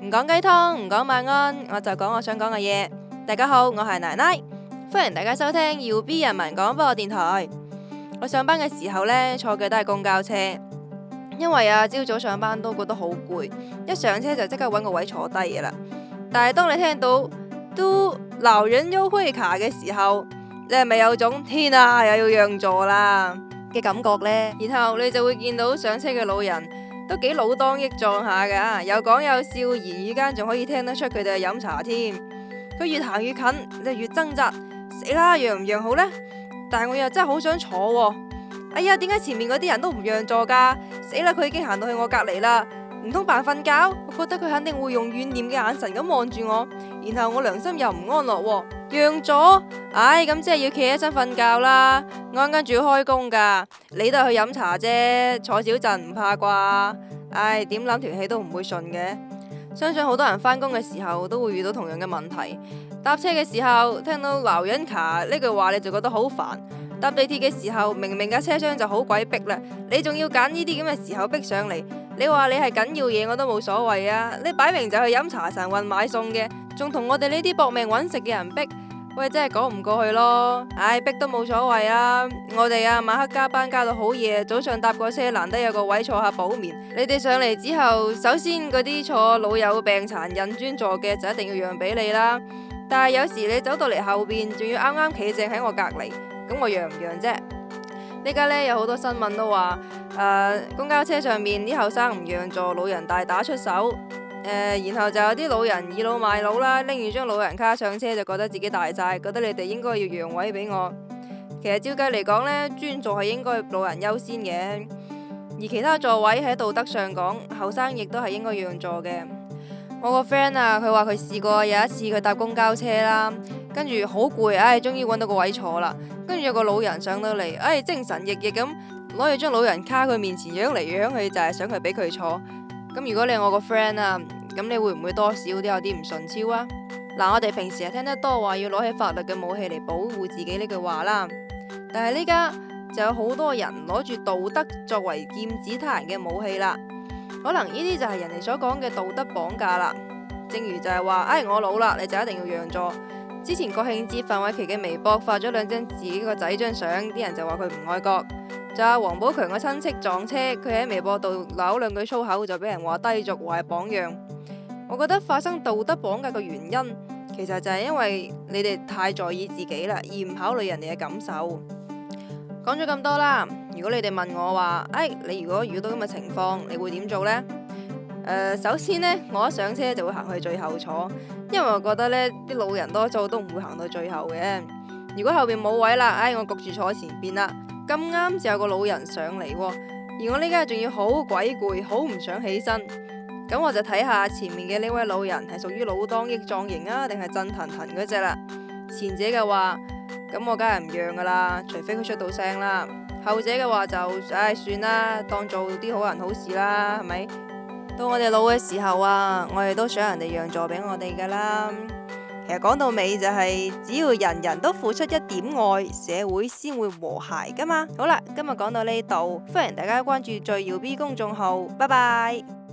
唔講雞湯，唔講晚安，我就講我想講嘅嘢。大家好，我係奶奶，歡迎大家收聽耀 B 人民廣播電台。我上班嘅時候呢，坐嘅都係公交車，因為朝早上班都覺得好攰，一上車就即刻揾個位坐低嘅啦。但係當你聽到都老人優惠卡嘅時候，你係咪有種天啊又要讓座啦嘅感覺呢？然後你就會見到上車嘅老人都幾老當益壯下噶，有講有笑，言語間仲可以聽得出佢哋係飲茶添。佢越行越近，你就越掙扎，死啦，讓唔讓好呢？但係我又真係好想坐喎。哎呀，點解前面嗰啲人都唔讓座噶？死啦，佢已經行到去我隔籬啦，唔通扮瞓覺？我覺得佢肯定會用怨念嘅眼神咁望住我，然後我良心又唔安樂喎。讓座？唉，咁即係要企起身瞓覺啦。我啱啱仲要開工噶，你都係去飲茶啫，坐少陣唔怕啩？唉，點諗條氣都唔會順嘅。相信好多人返工嘅時候都會遇到同樣嘅問題。搭車嘅時候聽到老人卡呢句話，你就覺得好煩。搭地鐵嘅時候，明明架車廂就好鬼逼啦，你仲要揀呢啲咁嘅時候逼上嚟。你話你係緊要嘢我都冇所謂啊，你擺明就去飲茶神運買餸嘅，仲同我哋呢啲搏命揾食嘅人逼，喂，真係講唔過去咯。唉，逼都冇所謂啊。我哋晚黑加班加到好夜，早上搭個車難得有個位坐下補眠。你哋上嚟之後，首先嗰啲坐老友病殘人專座嘅就一定要讓俾你啦。但係有時你走到嚟後邊，仲要啱啱企正喺我隔籬，咁我讓唔讓啫？呢家呢，有好多新聞都話，公交車上面啲後生唔讓座，老人大打出手。然後就有啲老人倚老賣老啦，拎住張老人卡上車就覺得自己大晒，覺得你哋應該要讓位俾我。其實照計嚟講呢，專座係應該老人優先嘅，而其他座位喺道德上講，後生亦都係應該讓座嘅。我個 friend 佢話佢試過有一次佢搭公交車啦，跟住好攰，終於揾到個位坐啦。跟住有個老人上到嚟，精神奕奕咁攞住張老人卡，佢面前揚嚟揚去，就係想佢俾佢坐。咁如果你係我個 friend 咁你會唔會多少都有啲唔順超啊？嗱，我哋平時係聽得多話要攞起法律嘅武器嚟保護自己呢句話啦，但係呢家就有好多人攞住道德作為劍指他人嘅武器啦。可能呢啲就係人哋所講嘅道德綁架啦。正如就係話，我老啦，你就一定要讓座。之前國慶節范瑋琪嘅微博發咗兩張自己個仔張相，啲人就話佢唔愛國。就阿王寶強個親戚撞車，佢喺微博度鬧兩句粗口，就俾人話低俗，話係榜樣。我覺得發生道德綁架嘅原因，其實就係因為你哋太在意自己啦，而唔考慮人哋嘅感受。講咗咁多啦，如果你哋問我話，你如果遇到咁嘅情況，你會點做呢？首先呢，我一上車就會行去最後坐，因為我覺得呢啲老人多數都唔會行到最後嘅。如果後邊冇位啦，我焗住坐前邊啦。咁啱就有個老人上嚟，而我呢家仲要好鬼攰，好唔想起身。咁我就睇下前面嘅呢位老人係屬於老當益壯型啊，定係震騰騰嗰隻啦。前者嘅話，咁我梗係唔讓噶啦，除非佢出到聲啦。後者嘅話就算啦，當做啲好人好事啦，係咪？到我哋老嘅時候我哋都想人哋讓座俾我哋噶啦。其實講到尾就係，只要人人都付出一點愛，社會先會和諧噶嘛。好啦，今日講到呢度，歡迎大家關注最耀 B 公眾號，拜拜。